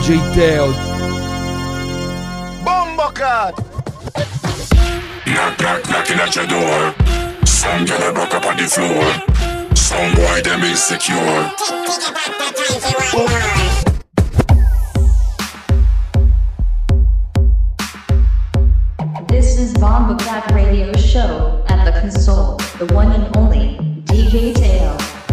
DJ Teo. Bombocat. Knock, knock, knocking at your door. Some girl broke up on the floor. Some boy them insecure. This is Bombocat Radio Show. At the console, the one and only DJ Teo.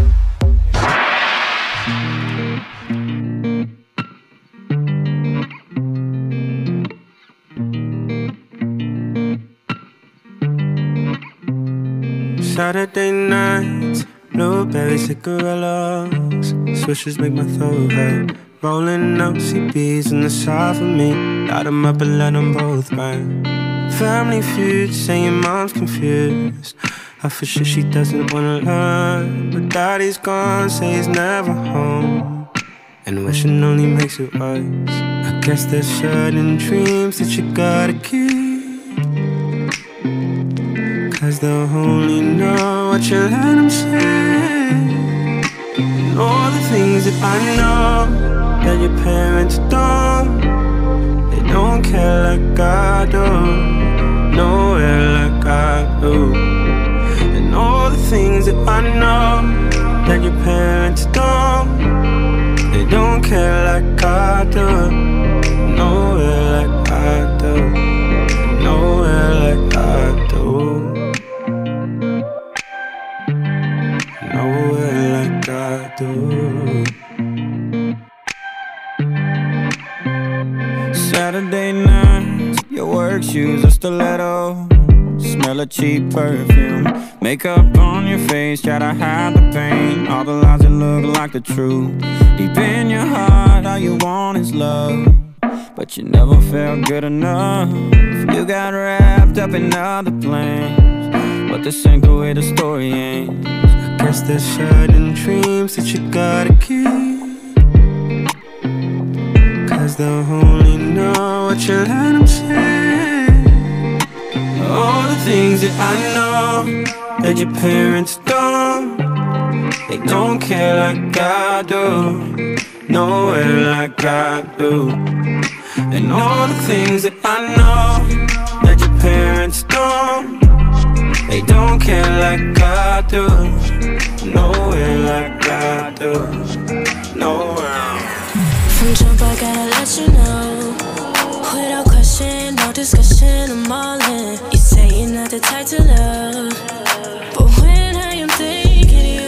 Saturday nights, blueberry cigarillos, swishes make my throat hurt. Rolling up CBs in the side for me, light 'em up and let 'em both burn. Family feud, saying mom's confused. I for sure she doesn't wanna learn, but daddy's gone, say he's never home. And wishing only makes it worse. I guess there's certain dreams that you gotta keep, 'cause they'll only know what you let them say. And all the things that I know that your parents don't, they don't care like I do, nowhere like I do. And all the things that I know that your parents don't, they don't care like I do, nowhere like I do, nowhere like I do. Nowhere like I do. Saturday nights, your work shoes are stiletto. Smell of cheap perfume. Makeup on your face, try to hide the pain. All the lies that look like the truth. Deep in your heart, all you want is love, but you never felt good enough. You got wrapped up in other plans, but this ain't the way the story ends. I guess there's certain dreams that you gotta keep, 'cause they'll only know what you let them say. All the things that I know that your parents don't, they don't care like I do, nowhere like I do. And all the things that I know that your parents don't, they don't care like I do, nowhere like I do, nowhere. From jump I gotta let you know, without question, no discussion, I'm all in. You say you're not the type to love, but when I am thinking you,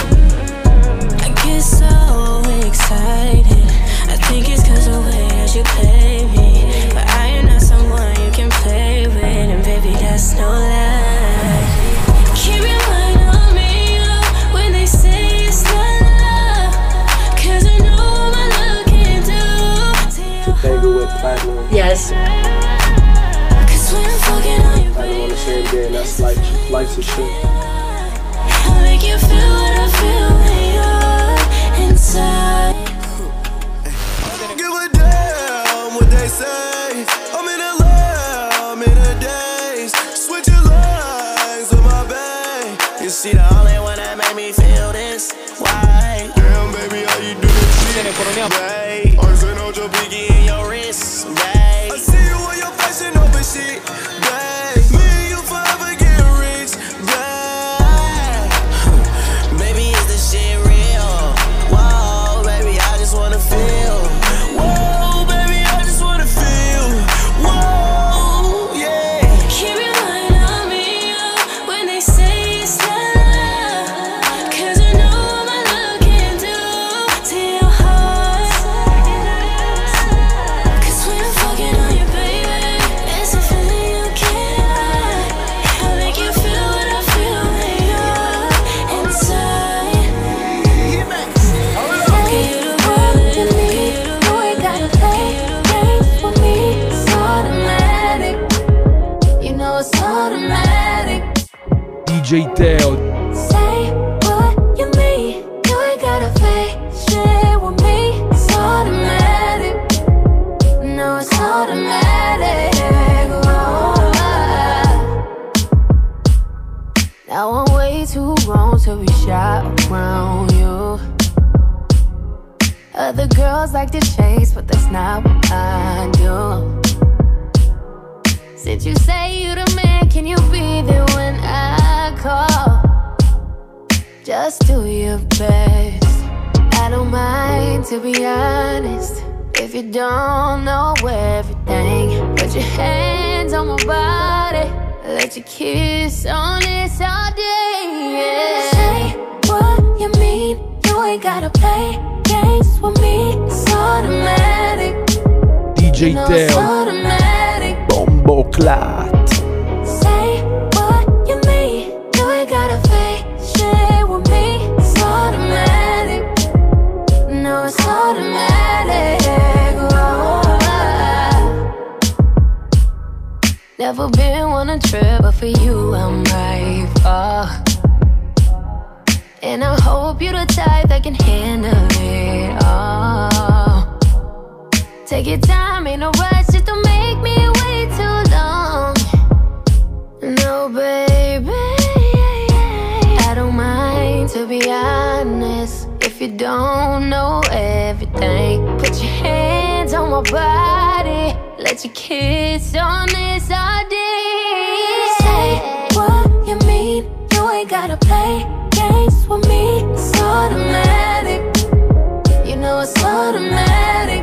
I get so excited. I think it's 'cause the way that you play me, but I am not someone you can play with, and baby that's no lie. Keep your mind on me, oh, when they say it's not love, 'cause I know my love can do to your heart. Yes. 'Cause when I'm fucking on your On the same day, that's life's a shit. I'll make you feel what I feel when you're inside. Give a damn what they say. I'm in LA, I'm in a daze. Switching lines with my babe. You see the only one that made me feel this way. Damn baby, how you do this shit, babe? Arson on your pinky and your wrist, babe. I see you on your fashion over shit, babe. Me and you forever get rich, babe. Baby, is this shit real? Whoa, baby, I just wanna feel. Whoa, baby, I just wanna feel. Whoa, yeah. Keep your mind on me, oh, when they say it's not love, 'cause I know my love can do to your heart. 'Cause when I'm fucking on you, baby, it's a feeling you can't hide. I'll make you feel what I feel when you're inside. Get you the bullet, get you the bullet, get you the DJ Teo. Say what you mean, you ain't gotta fake shit with me. It's automatic, no, it's automatic. Oh. Now I'm way too grown to be shy around you. Other girls like to chase, but that's not what I do. Since you say you the man, can you be there when I call? Just do your best. I don't mind, to be honest. If you don't know everything, put your hands on my body. Let your kiss on this all day, yeah. Say what you mean. You ain't gotta play games with me. It's automatic. DJ You know it's Teo, automatic. Bombo Clat. Say what you mean. You ain't gotta fake shit with me. It's automatic. No, it's automatic. Oh. Never been on a trip, but for you I'm right. Oh. And I hope you're the type that can handle it. Oh. Take your time, ain't no rush, just don't make me wait too long. No, baby, I don't mind, to be honest. If you don't know everything, put your hands on my body. Let your kiss on this all day. Say what you mean. You ain't gotta play games with me. It's automatic. You know it's automatic.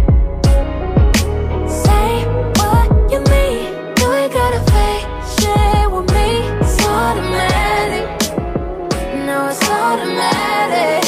Say what you mean. You ain't gotta fake shit with me. It's automatic. No, it's automatic.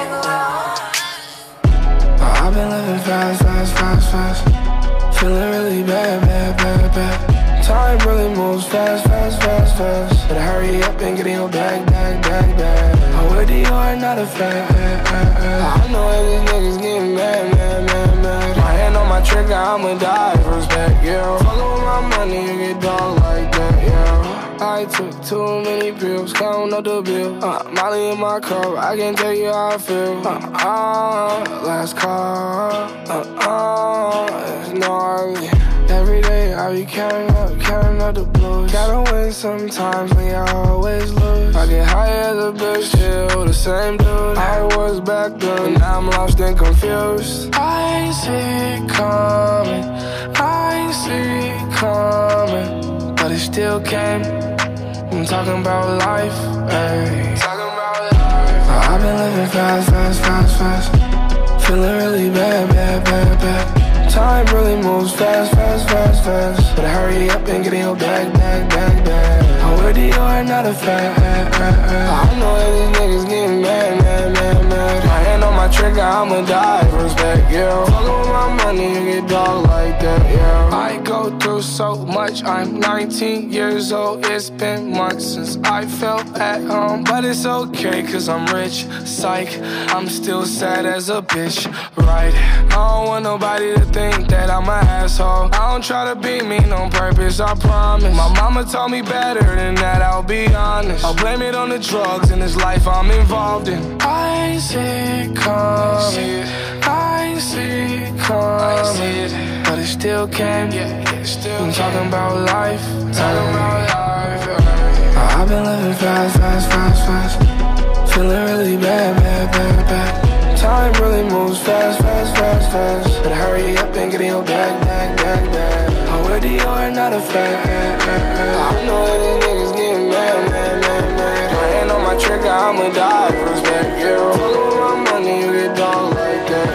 I've been living fast, fast, fast, fast. Feeling really bad, bad, bad, bad. Time really moves fast, fast, fast, fast. Better hurry up and get in your bag, bag, bag, bag. I'm with you, are not a fan. I know that these niggas getting mad, mad, mad, mad. My hand on my trigger, I'ma die for respect, yeah. Fuckin' with my money, you get dog like that, yeah. I took too many pills, counting up the bill. Molly in my car, I can tell you how I feel. Last call, it's gnarly. Every day I be counting up the blues. Gotta win sometimes, when you always lose. I get high as a bitch, still the same dude I was back then, but now I'm lost and confused. I ain't see it coming, I ain't see it coming, but it still came. I'm talking about life, ayy. I've been living fast, fast, fast, fast. Feeling really bad, bad, bad, bad. Time really moves fast, fast, fast, fast. Better hurry up and get in your bag, bag, bag, bag. I'm with you, are not a fan. I know that these niggas getting mad, mad, mad, mad. My hand on my trigger, I'ma die for respect, yeah. Fuckin' with my money, you get dog like that, yeah. I go through so much, I'm 19 years old. It's been months since I felt at home, but it's okay, cause I'm rich, psych. I'm still sad as a bitch, right? I don't want nobody to think that I'm an asshole. I don't try to be mean on purpose, I promise. My mama told me better than that, I'll be honest. I'll blame it on the drugs in this life I'm involved in. I ain't see it coming, I ain't see it coming, but it still came. I'm talking about life, I've been living fast, fast, fast, fast. Feeling really bad, bad, bad, bad. Time really moves fast, fast, fast, fast. Better hurry up and get in your bag, bag, bag, bag. I'm with you, are not a fan. I know that these niggas getting mad, mad, mad, mad. My hand on my trigger, I'ma die for respect, yeah. Fuckin' with my money, you get dog like that,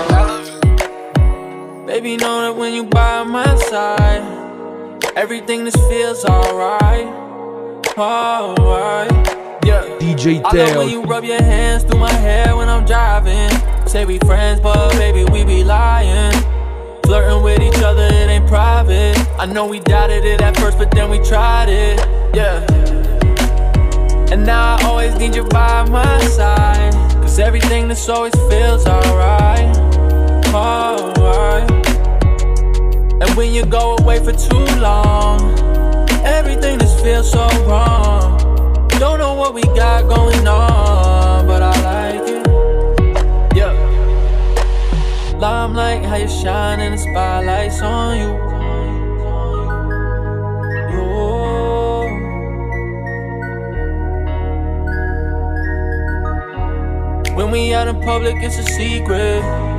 yeah. Baby, know that when you by my side, everything just feels alright, alright. Yeah. DJ I love when Teo, you rub your hands through my hair when I'm driving. Say we friends, but baby, we be lying. Flirting with each other, it ain't private. I know we doubted it at first, but then we tried it. Yeah. And now I always need you by my side, cause everything just always feels alright, alright. And when you go away for too long, everything just feels so wrong. Don't know what we got going on, but I like it. Yeah. Limelight, how you shine and the spotlight's on you. Oh. When we out in public, it's a secret.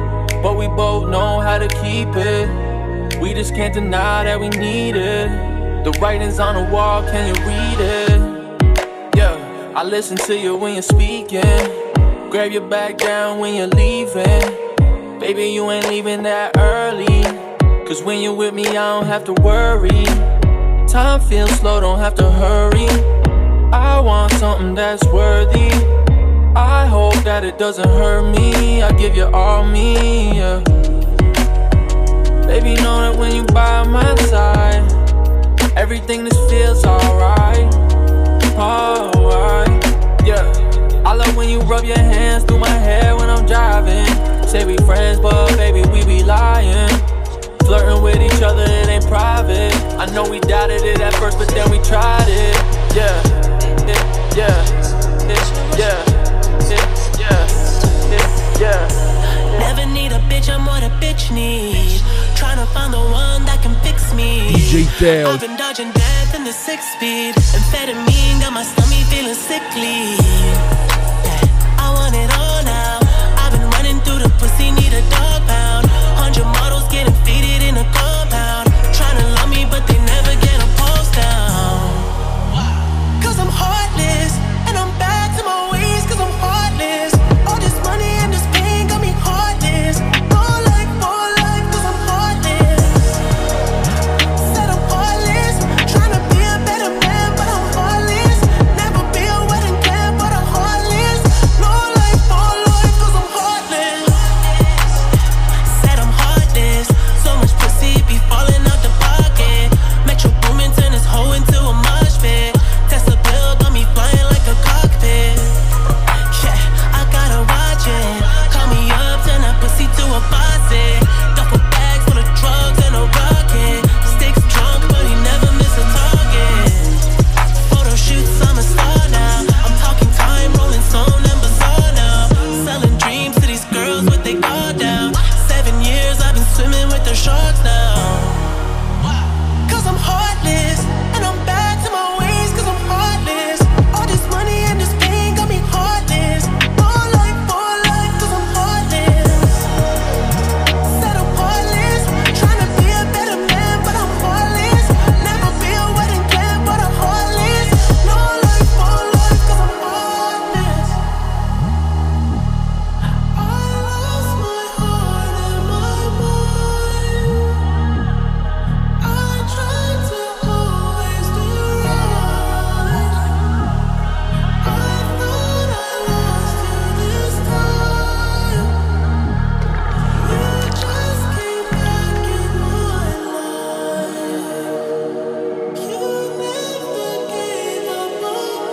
but we both know how to keep it. We just can't deny that we need it. The writing's on the wall, can you read it? Yeah, I listen to you when you're speaking. Grab your back down when you're leaving. Baby, you ain't leaving that early, cause when you're with me, I don't have to worry. Time feels slow, don't have to hurry. I want something that's worthy. I hope that it doesn't hurt me. I give you all me, yeah. Baby, know that when you by my side, everything just feels alright. Alright, yeah. I love when you rub your hands through my hair when I'm driving. Say we friends, but baby, we be lying. Flirting with each other, it ain't private. I know we doubted it at first, but then we tried it. Yeah, yeah. Never need a bitch, I'm what a bitch need. Tryna find the one that can fix me. DJ Teo. I've been dodging death in the 6-speed. Amphetamine got my stomach feeling sickly. I want it all now. I've been running through the pussy, need a dog pound. 100 models getting faded in a compound. Tryna love me, but they never get a pulse down. Cause I'm heartless, and I'm back to my ways, cause I'm heartless. All this money and this pain got me heartless. More life, cause I'm heartless. Said I'm heartless, tryna be a better man, but I'm heartless. Never be a wedding plan, but I'm heartless. No life, cause I'm heartless. Said I'm heartless, so much pussy be falling out the pocket. Metro Boomin turn this hoe into a mosh pit. Tesla bill got me flying like a cockpit. Yeah, I gotta watch it. Call me up, turn that pussy to a faucet. Duffel bags full of drugs and a rocket. Sticks drunk, but he never miss a target. Photo shoots, I'm a star now. I'm talking time, rolling stone and bazaar now. Selling dreams to these girls with they guard down. 7 years I've been swimming with the sharks now. Cause I'm heartless, and I'm back to my ways, cause I'm heartless. All this money and this pain got me heartless. More life, cause I'm heartless. Said I'm heartless, tryna be a better man, but I'm heartless. Never be a wedding plan, but I'm heartless. No life, cause I'm heartless. I lost my heart and my mind. I tried to always do right. I thought I lost you this time. You just came back in my life. You never gave up on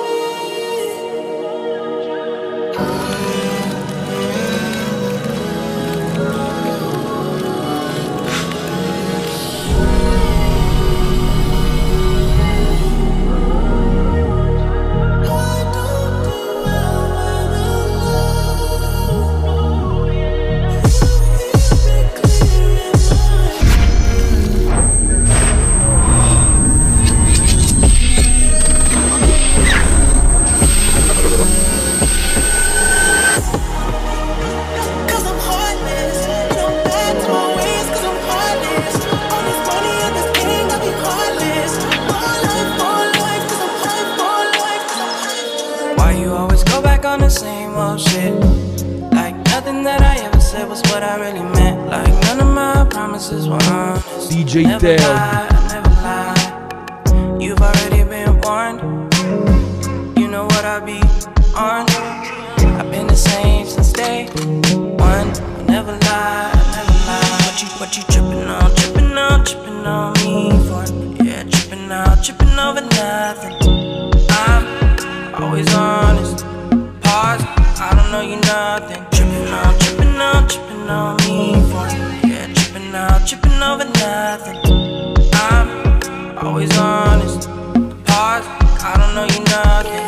Cause I'm heartless, and I'm back to my ways, cause I'm heartless. All this money and this pain got me heartless. More life, cause I'm heartless. Why you always go back on the same old shit? Like nothing that I ever said was what I really meant. Like none of my promises were honest. DJ Never Teo. lied, I never lied. You've already been warned. You know what I be on. I've been the same since day one. I never lied, I never lied. What you tripping on, tripping on, tripping on me for? Yeah, tripping out, tripping over nothing. I'm always honest. Pause, I don't know you nothing. Tripping on me for? Yeah, tripping out, tripping over nothing. I'm always honest. Pause, I don't know you nothing.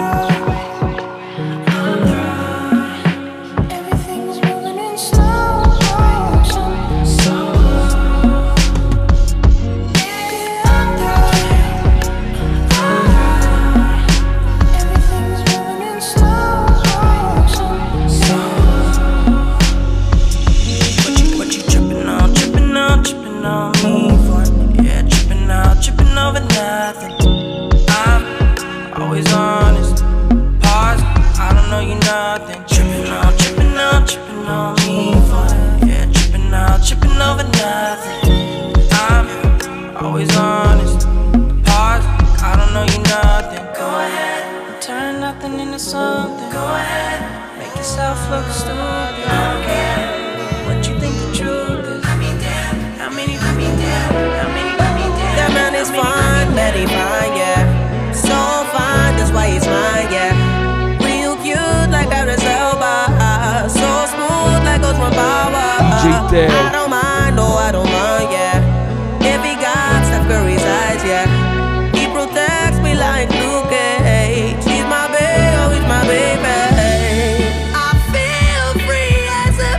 Everything's moving in slow motion. Everything's moving in slow motion. don't know you nothing. Tripping on me for that. Yeah, tripping over nothing. I'm always honest. Pause, I don't know you nothing. Go ahead, turn nothing into something. Go ahead, make yourself look stupid. I don't care what you think the truth is. I mean, damn, how many that man is fine, very fine, yeah. So fine, that's why he's mine, yeah. Real cute like Idris Elba. So smooth like Osman Bawa. I don't mind, no, I don't mind, yeah. If he got Steph Curry's eyes, yeah. He protects me like Luke Cage. He's my baby, oh, he's my baby. I feel free as a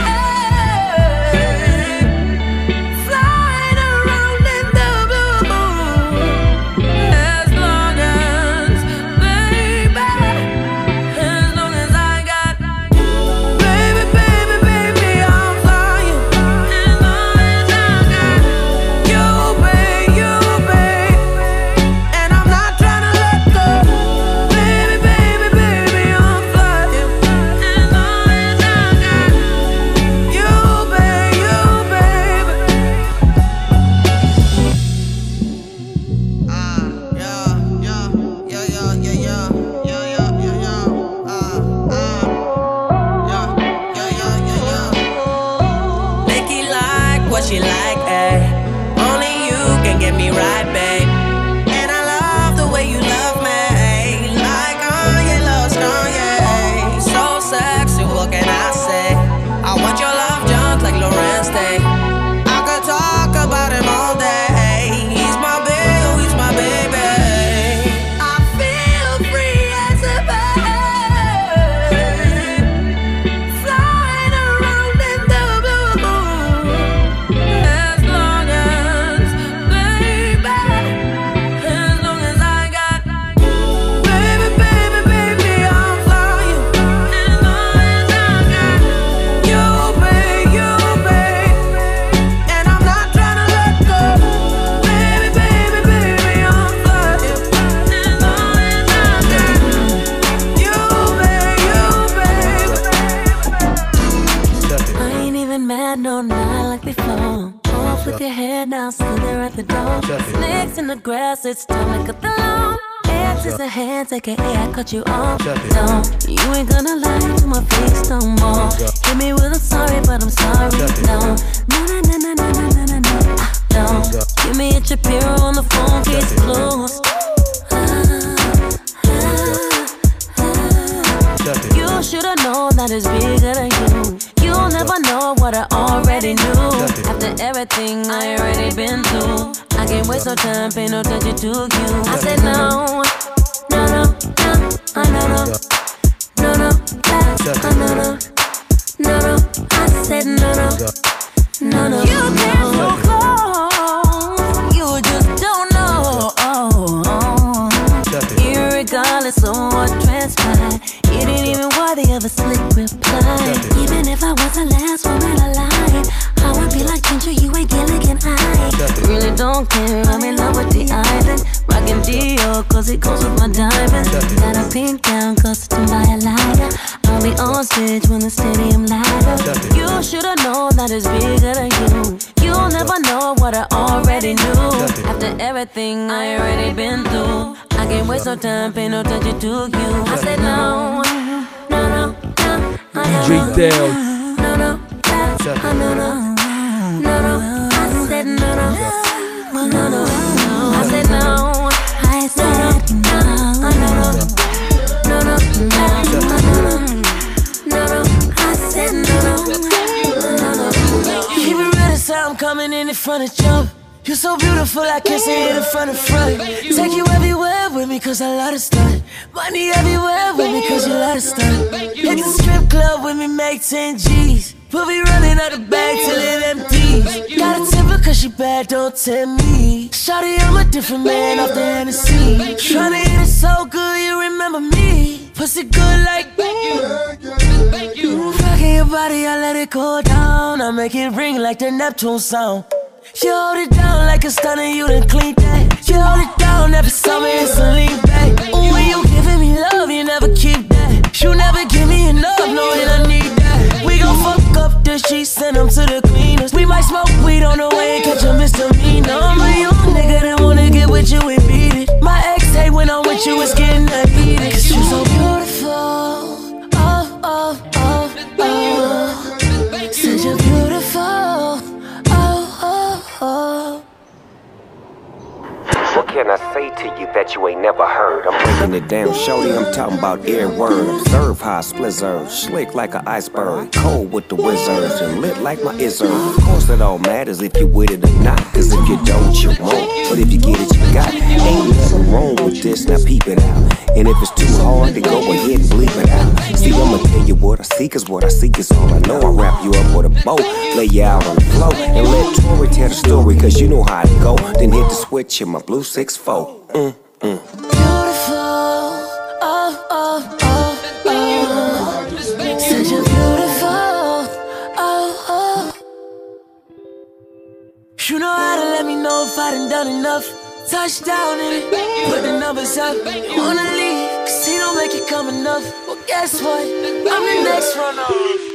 bird, flying around in the blue. As long as, baby, as long as I got, baby, baby, baby, I'm flying. As long as I got you, babe, and I'm not trying to let go. Baby, baby, baby, I'm flying. As long as I got you, babe, Nikki like what she like, ayy. Only you can get me right, babe. And I love the way you love me, like Kanye loves Kanye. So sexy, what can I say? I want your love junk like Lorenz Day. I could talk about him all day. He's my baby, oh, he's my baby. I feel free as a bird, flying around in the blue. As long as, baby, as long as I got, baby, baby, baby, I'm flying. As long as I got you, babe, and I'm not trying to let go. Baby, baby, baby, I'm flying. As long as I got you, babe. I ain't even mad, no, not like before. Off with your head now, still there at the door. Snakes in the grass, it's time to cut the lawn. Hands is a hands, aka I cut you off. Don't, you ain't gonna lie to my face no more. Hit me with I'm sorry, but I'm sorry. No, no. Don't, give me a Shapiro on the phone, case closed. You should've known that it's bigger than you. You'll never know what I already knew. After everything I already been through, I can't waste no time, pay no attention to you. I said no, no, no, no, no, no, no, no, no, no. I said no, no, no. You came so close, you just don't know. Irregardless of what transpired, you didn't even worthy of a slick reply. Even if I was the last woman alive, I would be like Ginger, you ain't Gilligan I really don't care, I'm in love with the island. Rockin' Dior, cause it goes with my diamonds. Got a pink gown, custom by a liar. I'll be on stage when the stadium light up. You should've known that it's bigger than you. You'll never know what I already knew. After everything I already been through, I can't waste no time, pay no attention to you. I said no, no, no, no. DJ Dale. No, no, no, no. I said no, no, no, no. I said no. I said no, no, no, no, no. I said no, no. Keep it real this time, I'm coming in front of jump. You're so beautiful, I can't see it in front of front. Take you everywhere with me, cause I love to stunt. Money everywhere with me, cause you love to stunt. Hit the strip club with me, make 10 G's. We'll be running out the bag till it empties. Got a temper cause she bad, don't tempt me. Shawty, I'm a different man off the Hennessy. Tryna hit it so good, you remember me. Pussy good like you. Rocking your body, I let it go down. I make it ring like the Neptune sound. You hold it down like a stunner, you done clean that. You hold it down every summer, it's a lean back. Ooh, when you giving me love, you never keep that. You never But you was getting that beat, cause you're so beautiful. Oh, oh, oh, oh. Said you're beautiful. Oh, oh, oh. What can I say to you that you ain't never heard? I'm breaking it down, shorty, I'm talking about every word. Observe how I splizzard, slick like an iceberg, cold with the wizards, and lit like my izzard. Of course it all matters if you with it or not, cause if you don't, you won't. But if you get it, you got it. Ain't nothing wrong with this, now peep it out. And if it's too hard, then go ahead and bleep it out. See, I'ma tell you what I see, cause what I seek is all I know. I wrap you up with a bow, lay you out on the floor, and let Tori tell the story, cause you know how it go. Then hit the switch in my blue 6-4. Beautiful, oh, oh, oh, oh. Said you're beautiful, oh, oh. You know how to let me know if I done enough. Touchdown in it, put the numbers up. You wanna leave, cause he don't make it come enough. Well, guess what? I'm the next runner.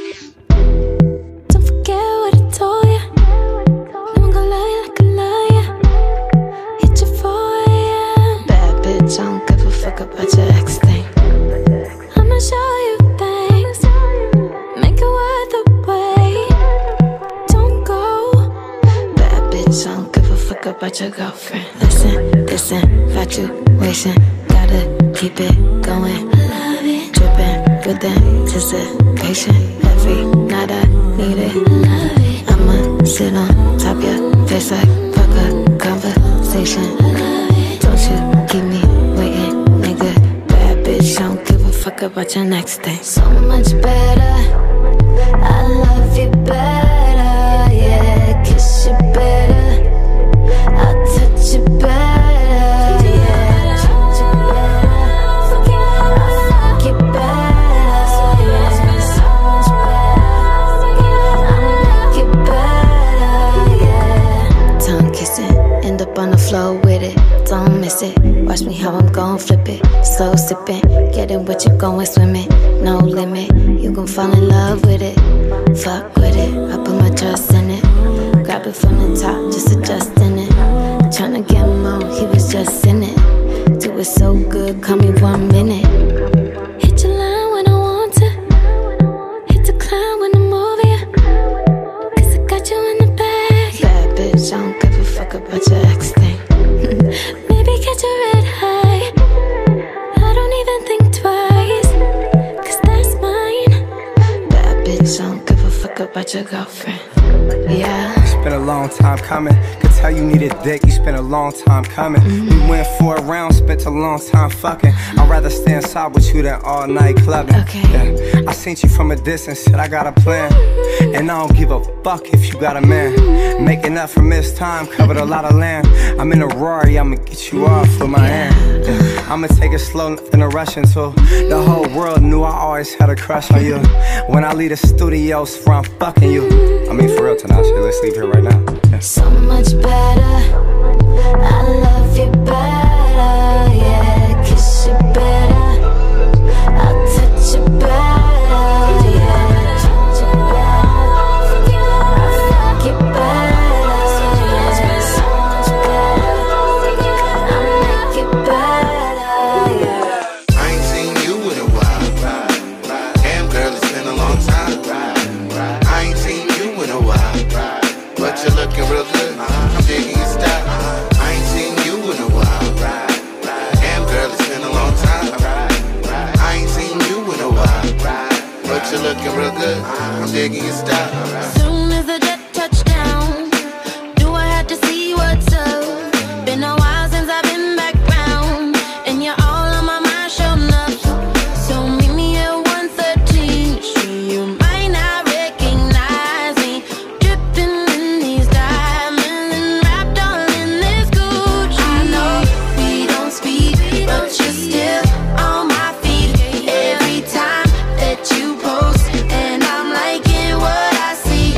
Don't forget what I told ya. No one gon' love you like I love ya. Hit you 4 AM. Bad bitch, I don't give a fuck about your ex thing. I'ma show you things, make it worth the wait. Don't go. Bad bitch, I don't give a fuck about your girlfriend. Listen, infatuation, gotta keep it going. Love it, dripping with anticipation. Every night I need it. Love it, I'ma sit on top your face like fuck a conversation. Love it, don't you keep me waiting, nigga. Bad bitch, I don't give a fuck about your next thing. So much better, I love you better, yeah, kiss you better. I'll touch you better, yeah. Treat you better, I'll fuck you better, yeah. So much better, I'll make it better, yeah. Tongue kissing, end up on the floor with it. Don't miss it, watch me how I'm gon' flip it. Slow sipping, getting what you going swimming. No limit, you gon' fall in love with it. Fuck with it, I put my trust in it. Grab it from the top, just adjusting it. Tryna get more, he was just in it. Do it so good, call me 1 minute. Hit your line when I want to. Hit the climb when I'm over you. Cause I got you in the bag. Bad bitch, I don't give a fuck about your ex thing. Maybe catch a red high. I don't even think twice, cause that's mine. Bad bitch, I don't give a fuck about your girlfriend. Yeah. It's been a long time coming. Could tell you needed dick, you spent a long time coming. We went for a round, spent a long time fucking. I'd rather stay inside with you than all night clubbing. Yeah. I seen you from a distance, said I got a plan. And I don't give a fuck if you got a man. Making up for missed time, covered a lot of land. I'm in a Rari, I'ma get you off with my hand. Yeah. I'ma take it slow, nothing to rush into. The whole world knew I always had a crush on you. When I leave the studios, for I'm fucking you. I mean for real tonight, shit, let's leave here right now. Yeah. So much better, I love you better, yeah, kiss you better, I'll touch you better, yeah, treat you better, I'll fuck you better, yeah, so much better, I'll make it better, yeah. I ain't seen you in a while, damn girl, it's been a long time. I ain't seen you in a while, but you're looking real good. I'm digging your style. I ain't seen you in a while. Damn girl, it's been a long time. I ain't seen you in a while, but you're looking real good. I'm digging your style. Soon as the jet touched down, do I have to see what's up? Been a while since I've been back round, and you're all on my mind, sure enough. So meet me at 113th Street. You might not recognize me, dripping in these diamonds and wrapped all in this Gucci. I know we don't speak, but you're still on my feet every time that you post, and I'm liking what I see.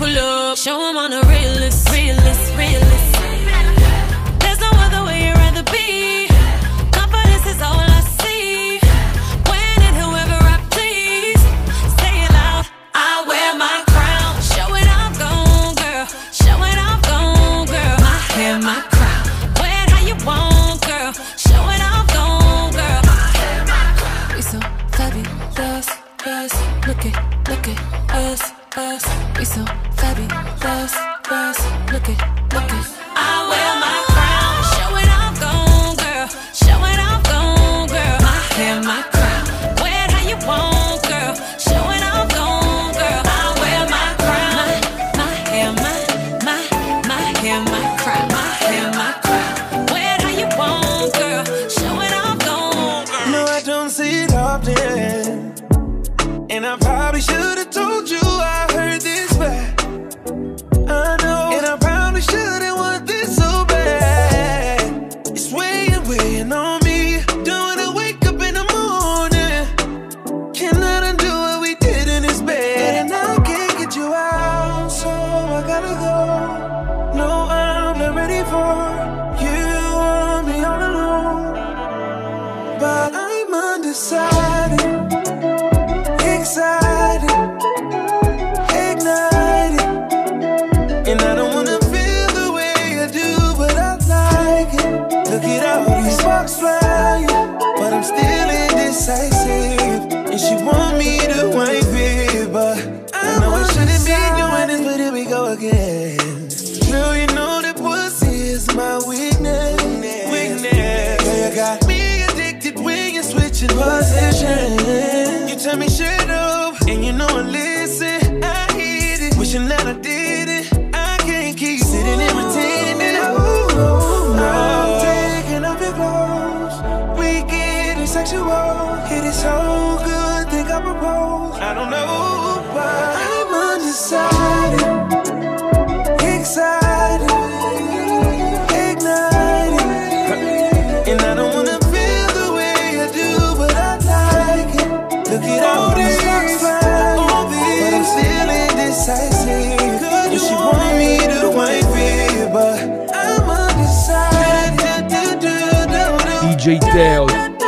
pull up, show them on the realest, realest, realest. There's no other way you'd rather be. Confidence is all I see. When and whoever I please, say it loud. I wear my crown, show it off, gone, girl. Show it off, gone, girl. My hair, my crown, wear it how you want, girl. Show it off, gone, girl. My hair, my crown. We so fabulous, us. Look at us, us. We so fabulous, us. Look at I wear my crown, show it off, gone, girl. Show it off, gone, girl. My hair, my crown, wear it how you want, girl. Show it off, gone, girl. I wear my crown, my hair, my hair, my crown, my hair, my crown. Wear it how you want, girl. Show it off, gone, girl. No, I don't see it often, and I probably should have told you I heard this back. I know, and I probably shouldn't want this so bad. It's weighing on me. Don't wanna wake up in the morning. Cannot undo what we did in this bed, and I can't get you out, so I gotta go. No, I'm not ready for you. Want me all alone, but I'm undecided, excited, ignited. And I don't wanna feel the way I do, but I like it. Look at all these sparks flying, but I'm still indecisive. And she want me to wife it, but I know I shouldn't be doing this, but here we go again. Girl, you know that pussy is my weakness. Girl, you got me addicted when you're switching position. You tell me shut up, and you know I listen. I hate it, wishing that I did it. Keep sitting and pretending. Oh, no. I'm taking off your clothes. We getting sexual. It is so good, think I propose. I don't know, but I'm undecided, excited, ignited. And I don't wanna feel the way I do, but I like it. Look at all these sparks flying, but I'm still indecisive. And she want me to wife it, but I'm undecided. DJ Teo.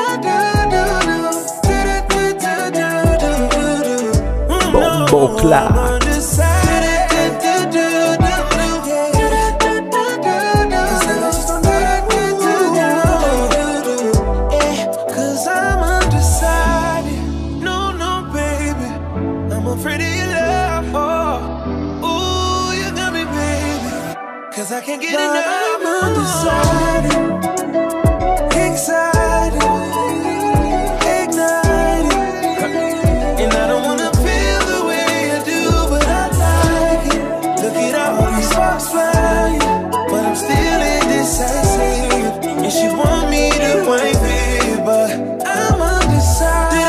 Bombo Clat. Cause I'm undecided. No, no, baby, I'm afraid of your love. Oh, ooh, you got me, baby. Cause I can't get enough. I'm undecided, excited, ignited. And I don't wanna feel the way I do, but I like it. Look at all these sparks flying, but I'm still indecisive. And she want me to wife it, but I'm undecided.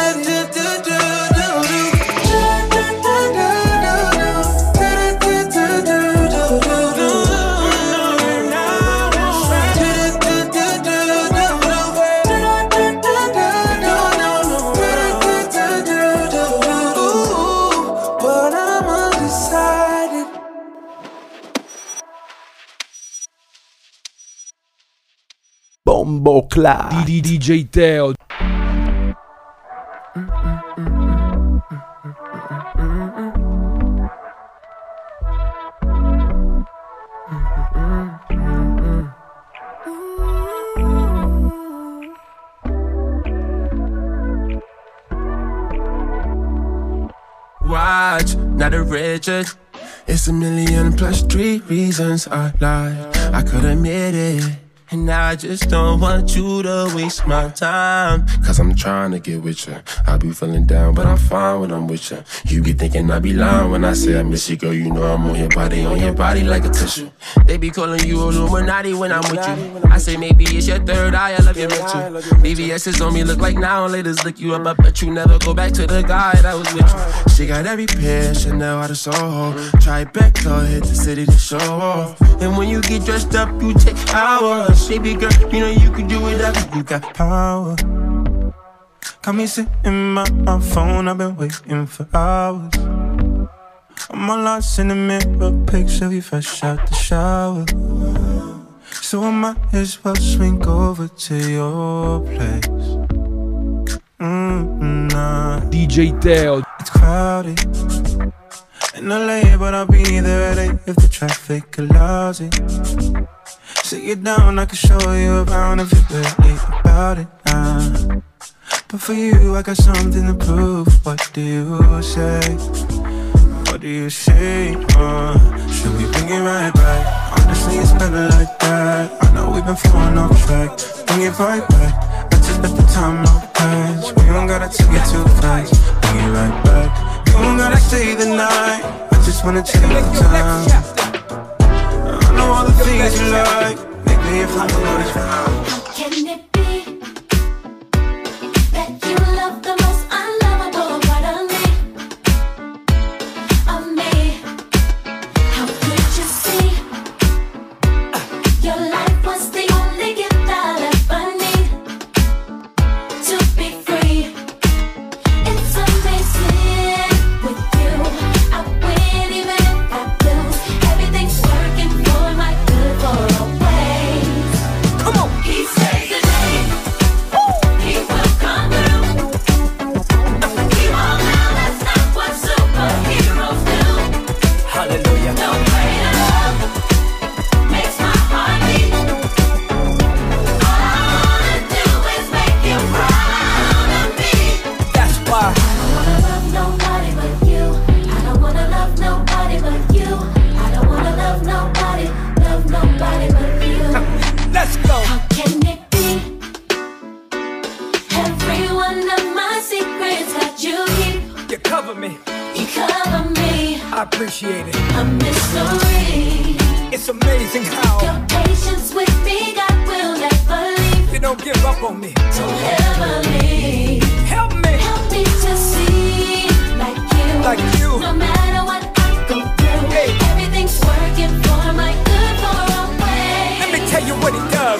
Bombo Clat. DJ Teo. Watch, not a Richard. It's 1,000,000+3 reasons I lied. I could admit it. And I just don't want you to waste my time. Cause I'm trying to get with you. I be feeling down, but I'm fine when I'm with you. You be thinking I be lying when I say I miss you, girl. You know I'm on your body like a tissue. They be calling you Illuminati when I'm with you. I say maybe it's your third eye, I love you mental. BBS is on me, look like now laters lick you up. I bet you never go back to the guy that was with you. She got every pair, Chanel out of Soho. Try back, go hit the city to show off. And when you get dressed up, you take hours. Baby girl, you know you can do whatever. You got power. Got me sitting in my phone, I've been waiting for hours. I'm all lost in the mirror, picture you fresh out the shower. So I might as well swing over to your place. Nah. DJ Teo. It's crowded in LA, but I'll be there at 8 if the traffic allows it. Sit you down, I can show you around if you're really about it. But for you, I got something to prove. What do you say? What do you say? Should we bring it right back? Honestly, it's better like that. I know we've been falling off track. Bring it right back. I just let the time no pass. We don't gotta take it too fast. Bring it right back. You don't gotta stay the night. I just wanna take the time. I know all the things you like. Make me if I know this right. How can it be that you love the most unlovable part of me? Of me? How could you see your life was the only gift I'll ever need to be free? It's amazing with you. I win even if I lose. Everything's working for my good for always. Come on, he saves the day. He will come through. He won't now. That's not what superheroes do. Hallelujah. No greater love makes my heart beat. All I wanna do is make you proud of me. That's why I don't wanna love nobody but you. I don't wanna love nobody but you. I don't wanna love nobody but you. let's go. How can it be? Every one of my secrets that you keep, You cover me. you cover me. I appreciate it. A mystery. It's amazing how Your patience with me, God will never leave. you don't give up on me. Don't ever leave. Help me. Help me to see like you. Like you. No matter what I go through, Hey. everything's working for my good for always. Let me tell you what he does.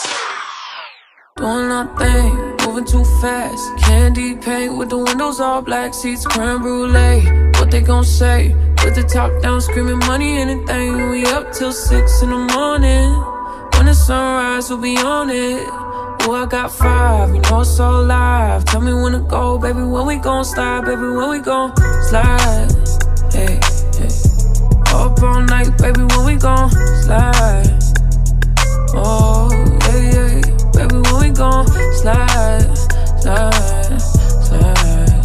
Doing nothing, moving too fast. Candy paint with the windows all black, seats creme brulee. What they gon' say? With the top down, screaming money, anything. We up till 6 in the morning. When the sunrise, we'll be on it. Oh, I got 5, you know it's so live. Tell me when to go, baby, when we gon' slide, baby, when we gon' slide. Hey, hey. Up all night, baby, when we gon' slide. Oh, yeah, yeah. Baby, when we gon' slide, slide, slide,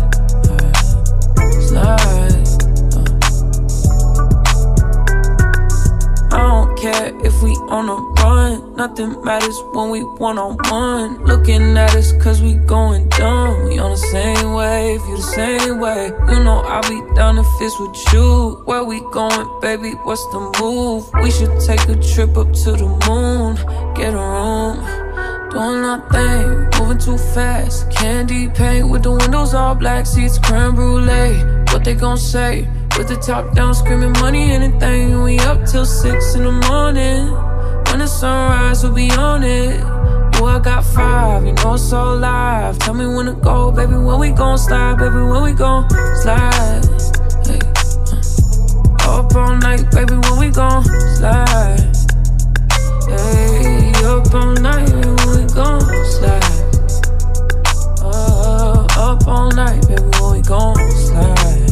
slide. I don't care if we on a run. Nothing matters when we one-on-one. Looking at us cause we going dumb. We on the same wave, you the same way. You know I'll be down if it's with you. Where we going, baby, what's the move? We should take a trip up to the moon. Get a room. Doing nothing, moving too fast. Candy paint with the windows all black, seats creme brulee. What they gon' say? With the top down, screaming money, anything. We up till 6 in the morning. When the sunrise, we'll be on it. Oh, I got 5, you know it's so live. Tell me when to go, baby, when we gon' slide, baby, when we gon' slide. Hey, up all night, baby, when we gon' slide. Hey, up all night, baby, when we gon' slide. Up all night, baby, when we gon' slide.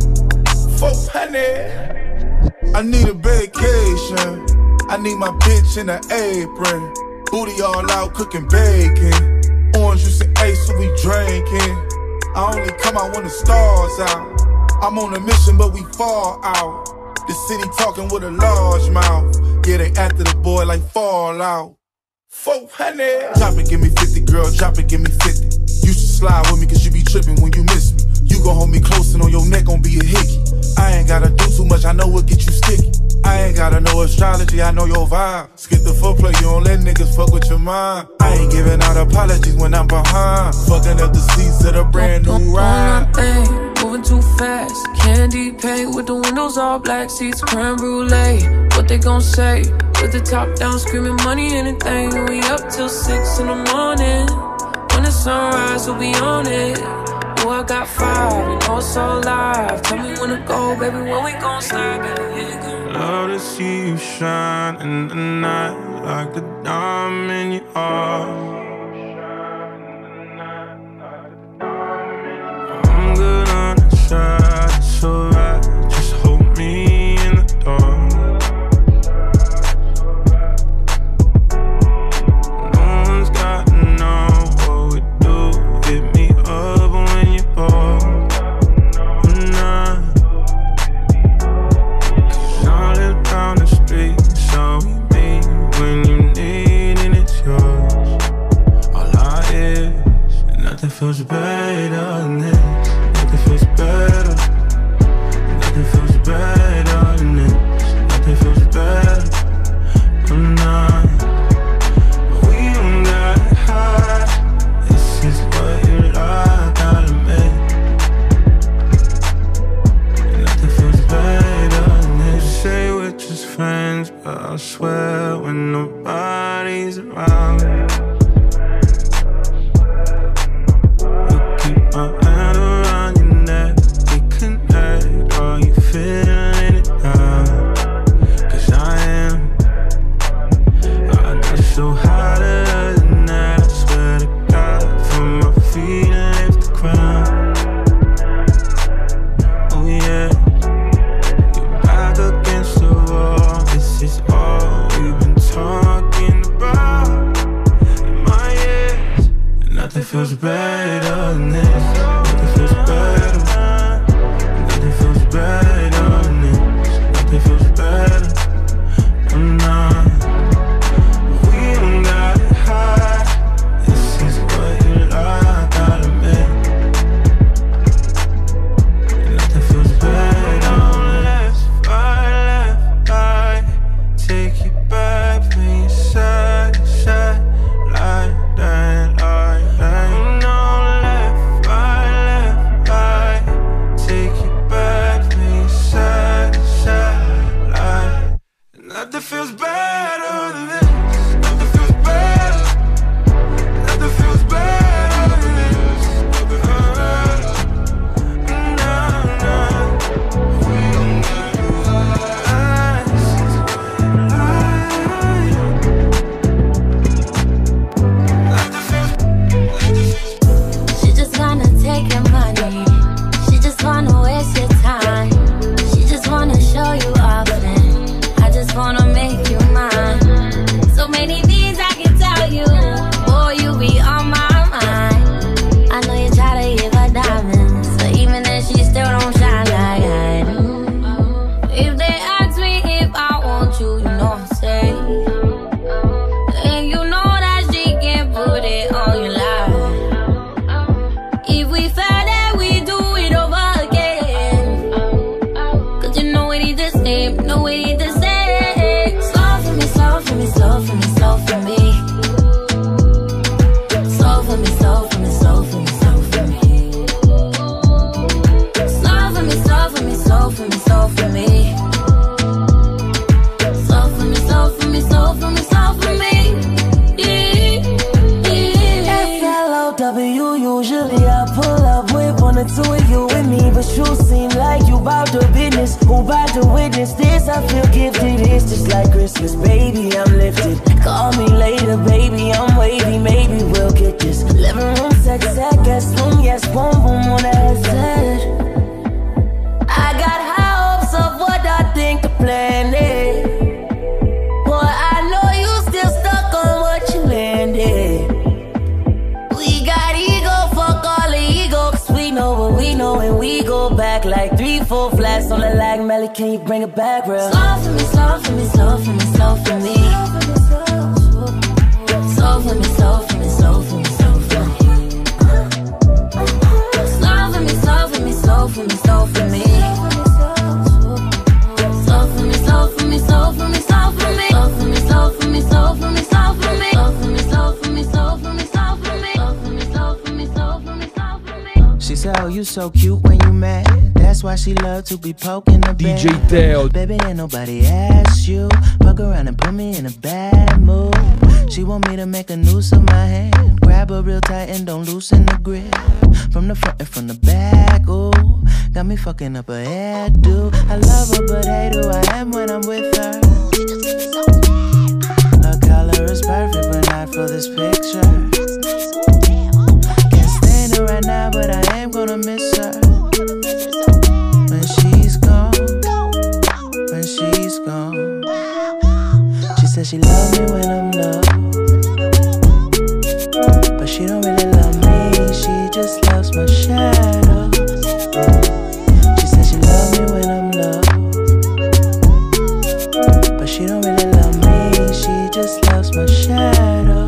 400. I need a vacation. I need my bitch in an apron. Booty all out cooking bacon. Orange juice and ace, so we drinking. I only come out when the stars out. I'm on a mission, but we fall out. The city talking with a large mouth. Yeah, they after the boy like Fallout. 400. Drop it, give me 50, girl, drop it, give me 50. You should slide with me, cause you be tripping when you miss me. You gon' hold me close and on your neck gon' be a hickey. I ain't gotta do too much, I know what get you sticky. I ain't gotta know astrology, I know your vibe. Skip the footplay, you don't let niggas fuck with your mind. I ain't giving out apologies when I'm behind. Fucking up the seats of the brand new ride. Moving too fast, candy paint with the windows all black, seats creme brulee. What they gon' say? With the top down, screaming money, anything. We up till 6 in the morning. When the sunrise, we'll be on it. Oh, I I got 5, you know it's so live. Tell me when to go, baby, when we gon' slide, baby. Love to see you shine in the night like the diamond you are. I'm good on the side, it's alright. Just hold me in the dark. No one's got to know what we do. Hit me up when you're bored. Down the street, so we meet when you need and it's yours. All I is, and nothing feels better than this. Nothing feels better. Nothing feels better than this. Nothing feels better. I'm not. We don't got high. This is what you like, gotta make. And nothing feels better than this. Say we're just friends, but I swear when nobody's around, you keep my hand around your neck. We connect, are you feeling it now? Cause I am. I got so hotter than that, I swear to God, from my feet and lift the ground. Oh yeah, you're back against the wall. This is all we've been talking about in my ears. And nothing feels better than this. Nothing feels better. Nothing feels better than this. Nothing feels better. I'm not. We don't got it high. This is what you like, gotta make. And nothing feels better. Left, right. Take you back from your side, like that, like that. No, left, right. Take you back from your side, like. Nothing feels better than this. Nothing feels better. Nothing feels better than this. Nothing feels better. No. We don't got She just wanna take your money. She just wanna waste your time. She just wanna show you off and I just wanna make you mine. So many things I can tell you. Boy, you be on my mind. I know you try to give her diamonds, but even then she still don't shine like I do. If they ask me if I want you, you know I say. And you know that she can put it on your life. If we fail that we do it over again. Cause you know we need the same, know we need the same. Slow for me, slow for me, slow for me, slow for me. Slow for me, slow for me, slow for me, slow for me. Slow for me, slow for me, slow for me, slow for me. Slow for me, slow for me, slow for me, slow for me. FLOW, usually I pull up with one or two of you with me, but you seem like you bout the business. Who bout to witness this? I feel gifted. It's just like Christmas, baby, I'm lifted. Call me later, baby, I'm wavy. Maybe we'll get this. Living room sex, guest room, yes, boom, boom on the headset. I got high hopes of what I think the plan is. Boy, I know you still stuck on what you landed. We got ego, fuck all the ego, cause we know what we know and we go back like 3, 4 flats on the lag. Melly, can you bring it back real? Slow for me, slow for me, slow for me, slow for me. Slow for me, slow for me, slow for me, slow for me. Slow for me, slow for me, slow for me, slow for me. Slow for me, slow for me, slow for me, slow for me. Slow for me, slow for me, slow for me, slow for me. Slow for me, slow for me, slow for me, slow for me. Slow for me, slow for me, slow for me, slow for me. She She said, oh, you so cute when you mad. That's why she love to be poking the bed. DJ Teo. Baby, ain't nobody asked you. Fuck around and put me in a bad mood. She want me to make a noose of my hand. Grab her real tight and don't loosen the grip. From the front and from the back, ooh. Got me fucking up her hairdo. I love her, but hate who I am when I'm with her. Her color is perfect, but not for this picture. Can't stand her right now, but I am gonna miss her. When she's gone, when she's gone. She said she love me when I'm low, but she don't really love me, she just loves my shadow. She said she love me when I'm low, but she don't really love me, she just loves my shadow.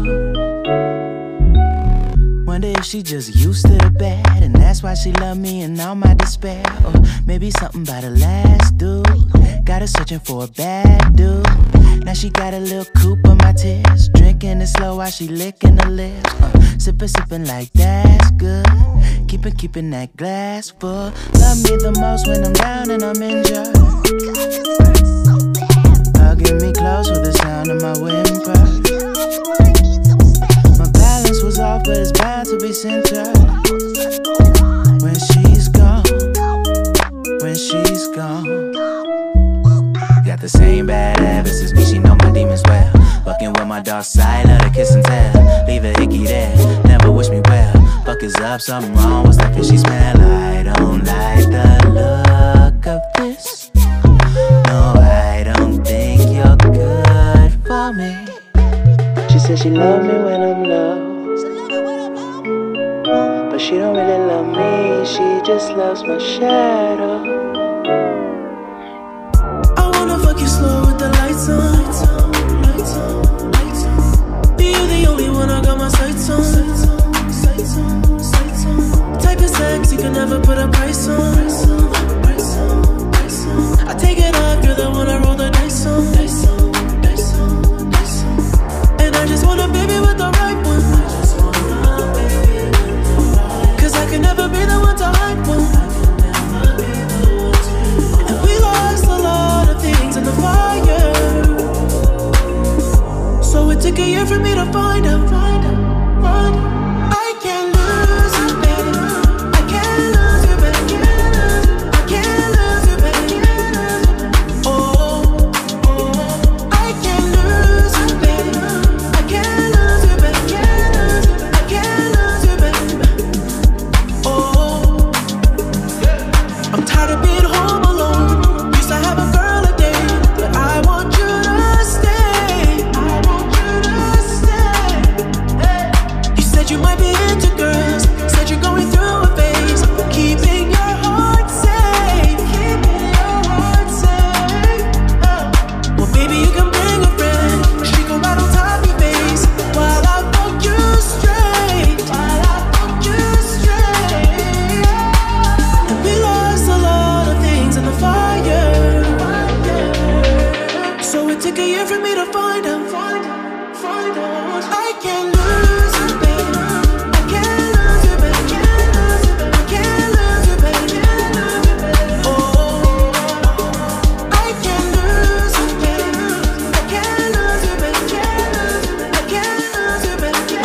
Wonder if she just used to the bad, and that's why she love me and all my despair. Or maybe something about the last dude, got her searching for a bad dude. Now she got a little coupe of my tears, drinking it slow while she licking her lips. Sipping like that's good, keeping that glass full. Love me the most when I'm down and I'm injured. Hugging me close with the sound of my whimper. My balance was off, but it's bound to be centered. When she's gone, when she's gone. Got the same bad habits as me, she know my demons well. Fucking with my dark side, let her kiss and tell. Leave her icky there, never wish me well. Fuck is up, something wrong, what's that fishy smell? I don't like the look of this. No, I don't think you're good for me. She said she love me when I'm low, but she don't really love me, she just loves my shadow. Fuck you slow with the lights on. Be you the only one I got my sights on. Type of sex you can never put a price on. I take it off, you're the one I roll the dice on. And I just want a baby with the right one. Cause I can never be the one to hype one. And we lost a lot of things in the fire, so it took a year for me to find out. I can't lose you, baby. I can't lose you, baby. I can't lose you, baby. Oh, I can't lose you, baby. I can't lose you, baby. I can't lose you, baby. Oh, I'm tired of being home alone. Used to have a girl a day, but I want you to stay. I want you to stay. Hey. You said you might be into girls, said you're going through a phase, keeping your heart safe, keeping your heart safe. Well, baby, you can bring a friend, she can ride on top of your face while I fuck you straight, while I fuck you straight. And we lost a lot of things in the fire, so it took a year for me to find out. I can't lose you, baby. I can't lose you, baby. I can't lose you, baby. Oh, I can't lose you, baby. I can't lose you, baby. I can't lose you, baby.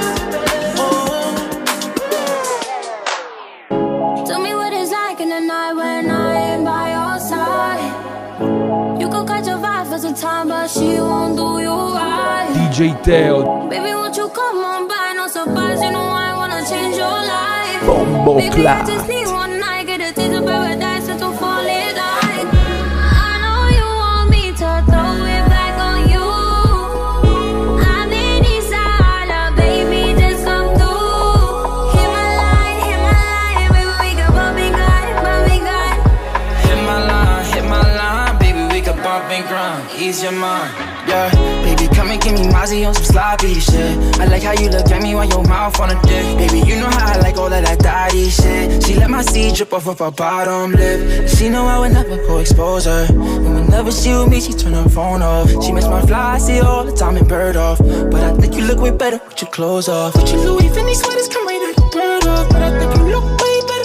Oh. Tell me what it's like in the night when I ain't by your side. You could catch a vibe for some time, but she won't do you right. DJ Teo. Baby, won't you come on by? No surprise, you know I wanna change your life. Bombo Baby, I Clat. just need one night, get a taste of paradise and to fall in line. I know you want me to throw it back on you. I'm in Isala, baby, just come through. Hit my line, baby, we can bump and grind, bump and grind. Hit my line, baby, we can bump and grind. Ease your mind, yeah. Baby, come and give me Mozzie on some sloppy shit. I like how you look at me while your mouth on a dick. Baby, you know how I like all of that daddy shit. She let my seed drip off of her bottom lip. She know I would never go expose her. And whenever she with me, she turn her phone off. She makes my fly, I see her all the time and bird off. But I think you look way better with your clothes off. With your Louis Vuitton sweaters, come right out the bird off. But I think you look way better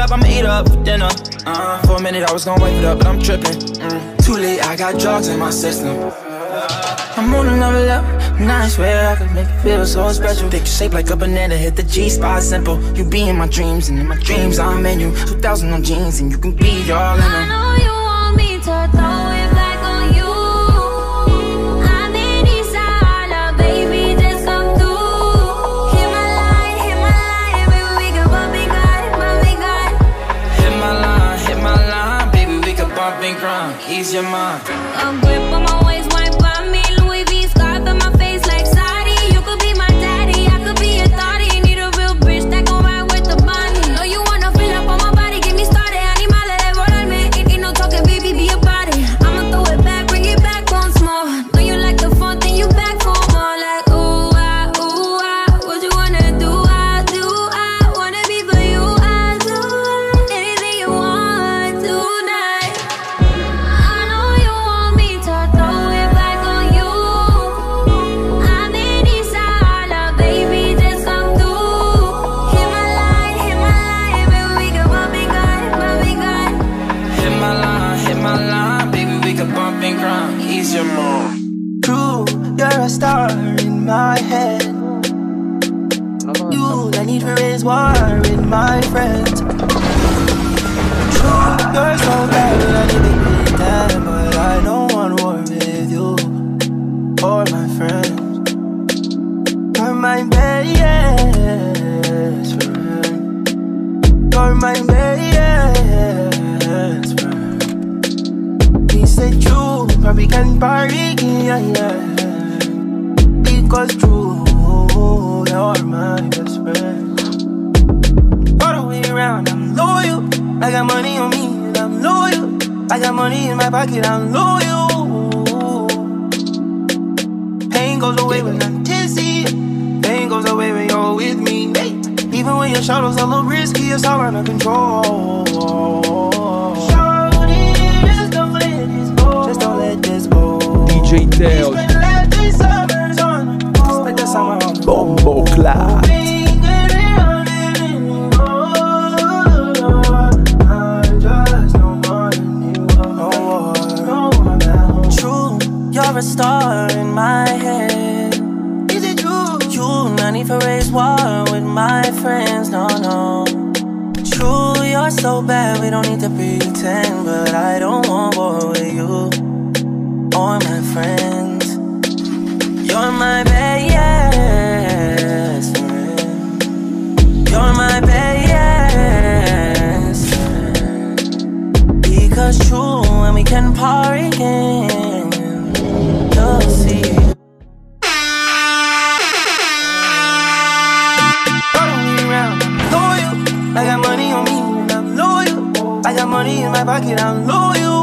up, I'm ate up for dinner. For a minute I was gonna wipe it up, but I'm tripping. Too late, I got drugs in my system. I'm on another level, and I swear I could make it feel so special. Picture shaped like a banana, hit the G-spot simple. You be in my dreams, and in my dreams I'm in you. 2,000 on jeans, and you can be all in them. I know you want me to throw it back on you. I'm in Isala, baby, just come through. Hit my line, baby, we can bump and grind, bump and grind. Hit my line, baby, we can bump and grind. Ease your mind. A grip on my waist, wipe by me. Louis V scarf in my face like Saudi. You could be my daddy, I could be your thotty. Need a real bitch that gon' ride with the money. Know you wanna fill up on my body, get me started. Animal, roll ain't no talking, baby, be about it. I'ma throw it back, bring it back once more. Know you like the fun, then you back for more. Like ooh ah, what you wanna do? I wanna be for you. I do anything you want tonight. I know you want me to throw it back on you. I'm in Isala, baby, just come through. Hit my line, baby, we can bump and grind, bump and grind. Hit my line, baby, we can bump and grind. Ease your mind. True, you're a star in my head. You, I need to raise war with my friends. True, you're so bad, I need to pretend, but I don't want war with you or my friends. You're my best friend. You're my best friend. We said true, but we can party, yeah. Because true, you're my best friend. All the way around, I'm loyal. I got money on me, and I'm loyal. I got money in my pocket, I'm loyal. Pain goes away when I'm tipsy. Pain goes away when you're with me. Hey. Even when your shadows a little risky, it's all under control. Shorty, just don't let this go. Just don't let this go. DJ Teo, Bombo Clap. True, you're a star in my head. Is it true? You, not need to raise war with my friends, no. True, you're so bad, we don't need to pretend. But I don't want war with you or my friends. You're my best friend. You're my best friend. Because true, when we can party again, you'll see. Follow me around, I'm loyal. I got money on me, and I'm loyal. I got money in my pocket, I'm loyal.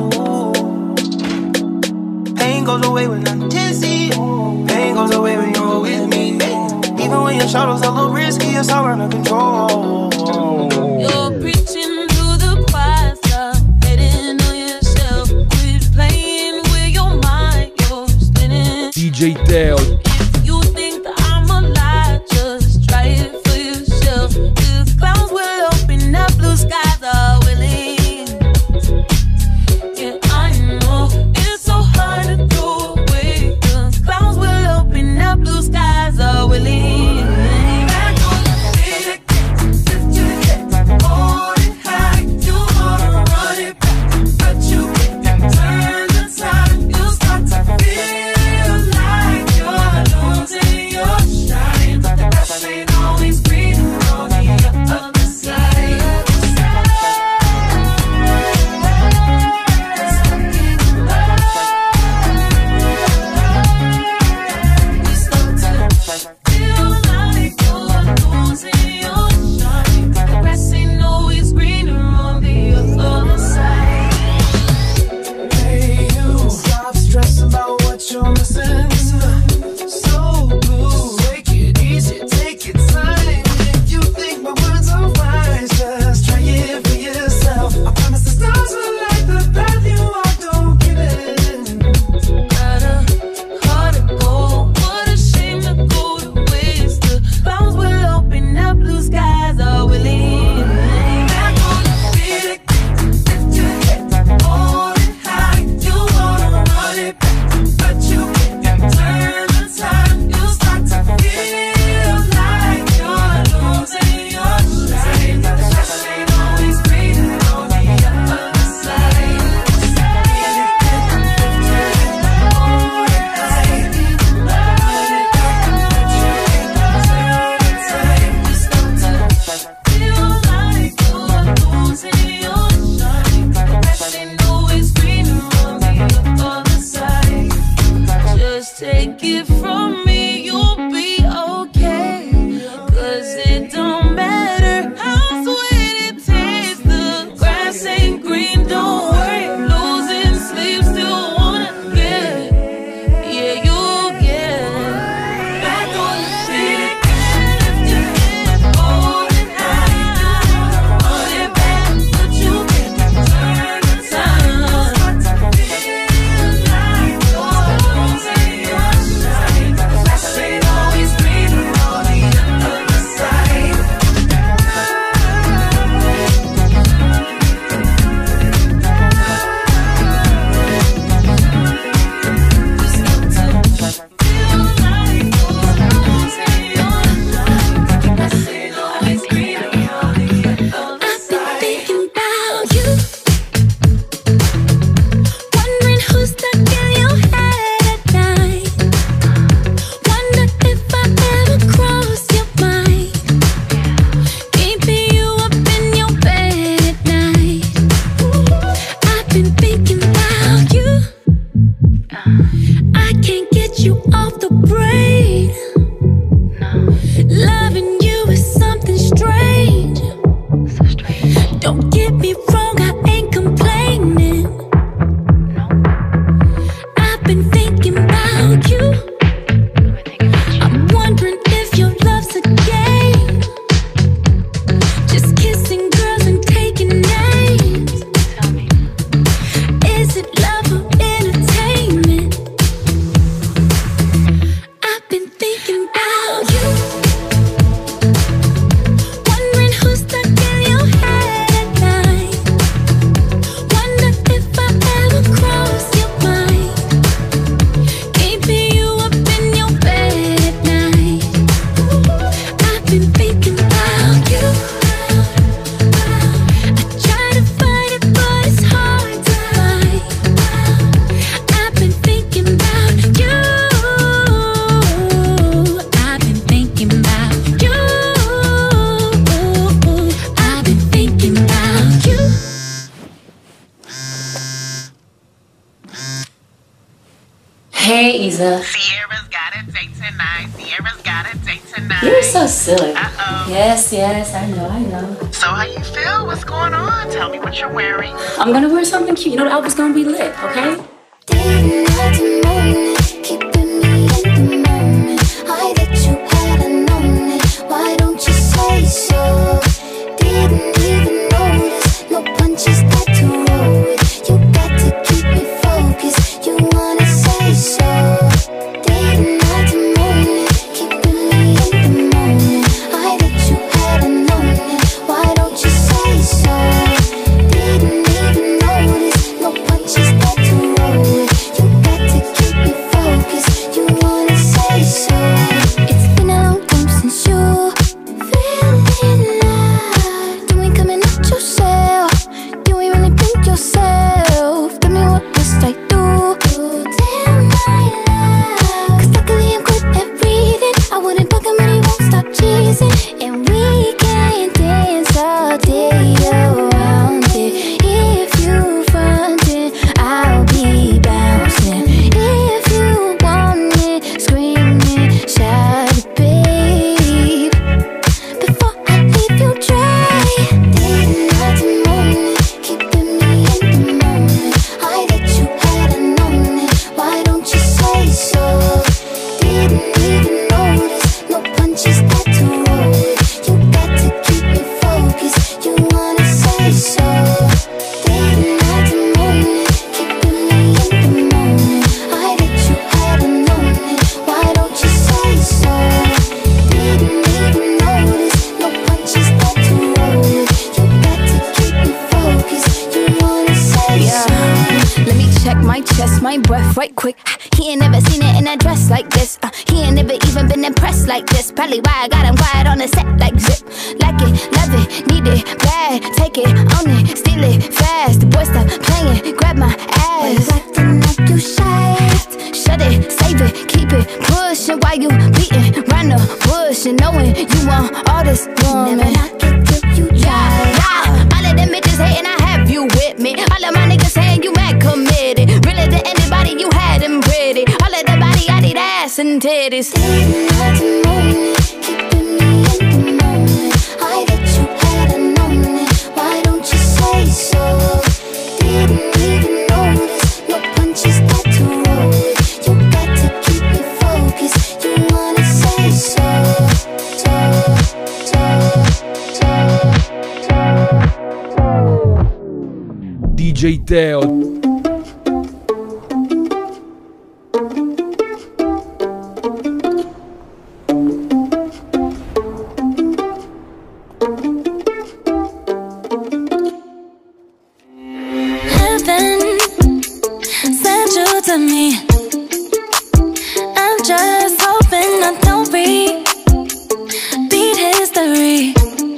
Pain goes away when I'm tipsy. Pain goes away when you're with me. Even when your shadows a little risky, it's all under control. You're preaching to the choir, stop hating on yourself. Quit playing with your mind, you're spinning. DJ Teo, If you think that I'm alive, just try it for yourself. Cause clouds will open up, blue skies are willing. Yeah, I know it's so hard to throw away. Cause clouds will open up, blue skies are willing. take it from me, you'll be okay. 'Cause it don't matter how sweet it tastes, the grass ain't green, don't worry. Losing sleep, still wanna get, yeah, you'll get back on the feet. Lift your head, hold it high, put it back, but you can turn the time. Feel like you're losing your shine. Grass ain't always green on the other side. Thinking about you, wondering who's stuck in your head at night. Wonder if I ever cross your mind. Keeping you up in your bed at night. I've been thinking about you. I can't get you off the brain. Loving you is something strange. Don't get me wrong, I ain't complaining. I've been thinking about you. I'm wondering if your love's a game. Just kissing girls and taking names. Is it love or entertainment? I've been thinking about you. Wondering who's stuck in your head at night. Wonder if I ever cross your mind. Keeping you up in your bed at night. I've been thinking about you. I try to fight it, but it's hard to fight. I've been thinking about you. I've been thinking about you. I've been thinking about you. Hey, Isa. Sierra's got a date tonight. Sierra's got a date tonight. You're so silly. Uh-oh. Yes, I know. So how you feel? What's going on? Tell me what you're wearing. I'm gonna wear something cute. You know the outfit's gonna be lit, okay? I that you had known it. Why don't you say so? Didn't even notice. No punches got to roll with. You got to keep me focused. You wanna say so? Didn't I moan it? Keeping me in the moment. I that you had known it. Why don't you say so? Didn't even notice. No punches got to roll with. You got to keep me focused. You wanna say so? It's been a long time since you feeling love. You ain't coming out yourself. You ain't really think yourself. Tell me what must I do? Tell my love. 'Cause luckily I'm good at breathing. I wouldn't bug him and he won't stop cheesing. And we can dance all day around it. If you frontin', I'll be bouncing. If you want it, screaming, shout it, babe. Before I leave you dry, didn't I moan it? Keeping me in the moment. I that you had known it. Why don't you say so? Didn't even notice. No punches got to roll with. You got to keep me focused. You wanna say so? Didn't I moan it? Keeping me in the moment. I that you had known it. Why don't you say so? Didn't even notice. No punches got to roll with. You got to keep me focused. You wanna say so? Let me check my chest, my breath right quick. He ain't never seen it in a dress like this. He ain't never even been impressed like this. Probably why I got him quiet on the set like zip. Like it, love it, need it, bad. Take it, own it, steal it, fast. The boy stop playing, grab my ass. Why you acting like you shy? Shut it, save it, keep it pushing. While you beating round the bush and knowing you want all this woman. Never knock it till you try. Yeah. All of them bitches hating, I have you with me. All of my niggas saying you mad committed. Really to anybody, you had them pretty. All of the body, I need ass and titties. I bet you hadn't known it. Why don't you say so? Didn't even notice. No punches got to roll it. You got to keep me focused. You wanna say so. DJ Teo. To me, I'm just hoping I don't repeat history.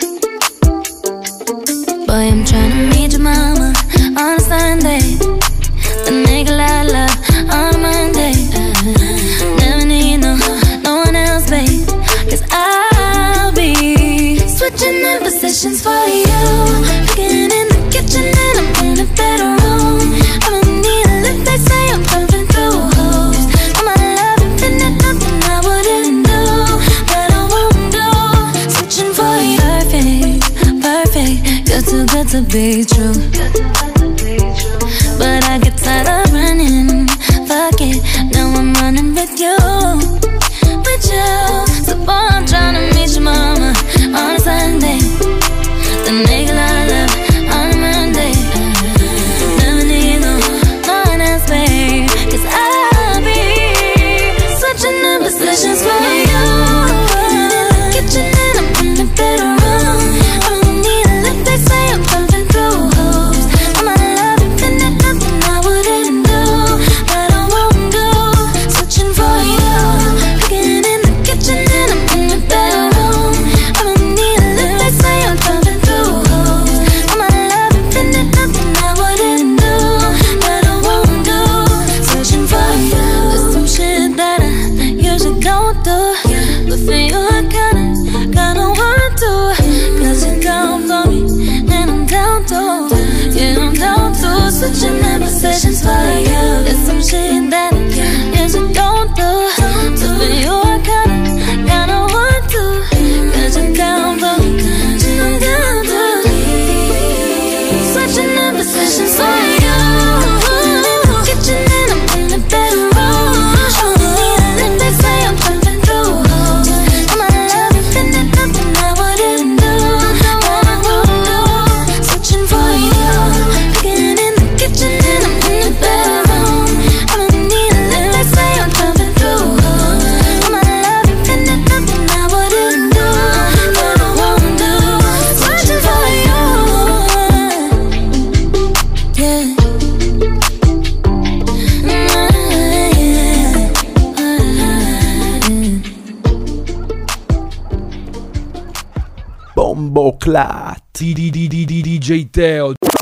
Boy, I'm tryna meet your mama on a Sunday, the nigga I love on a Monday. Never need no one else, babe, 'cause I'll be switching in positions for you. Cooking in the kitchen and I'm in the bedroom. I don't need a lift, they say I'm pumping through holes. All my love infinite, nothing I wouldn't do, that I won't do. Switching for you, perfect, good to be true. But I get tired of running, fuck it, now I'm running with you. So boy, I'm tryna meet your mama on a Sunday, the nigga I love on a Monday. Never need no one else, babe, 'cause I'll be switching the positions for you. In the kitchen and I'm in the bedroom. I don't need a lift, they say I'm pumping through holes. All my love infinite, nothing I wouldn't do, that I won't do. Switching for you. Cooking in the kitchen and I'm in the bedroom. I don't need a lift, they say I'm pumping through holes. All my love infinite, nothing I wouldn't do, that I won't do. Searching for you. There's some shit that I usually don't do, but for you I kinda want to. 'Cause you're down for me and I'm down to, yeah, I'm down to. Switching the positions for you. There's some shit that I usually don't do, but for you I kinda want to. 'Cause you're down for me and I'm down to. Switching the positions for you. Kitchen and I'm in the bedroom. I don't need a lift, they say I'm pumping through holes. All my love infinite, nothing I wouldn't do, that I won't do. Switching for you. Cooking in the kitchen and I'm in the bedroom. I don't need a lift, they say I'm pumping through holes. All my love infinite, nothing I wouldn't do, that I won't do. Switching for you. Yeah. Bomboclat. DJ Teo.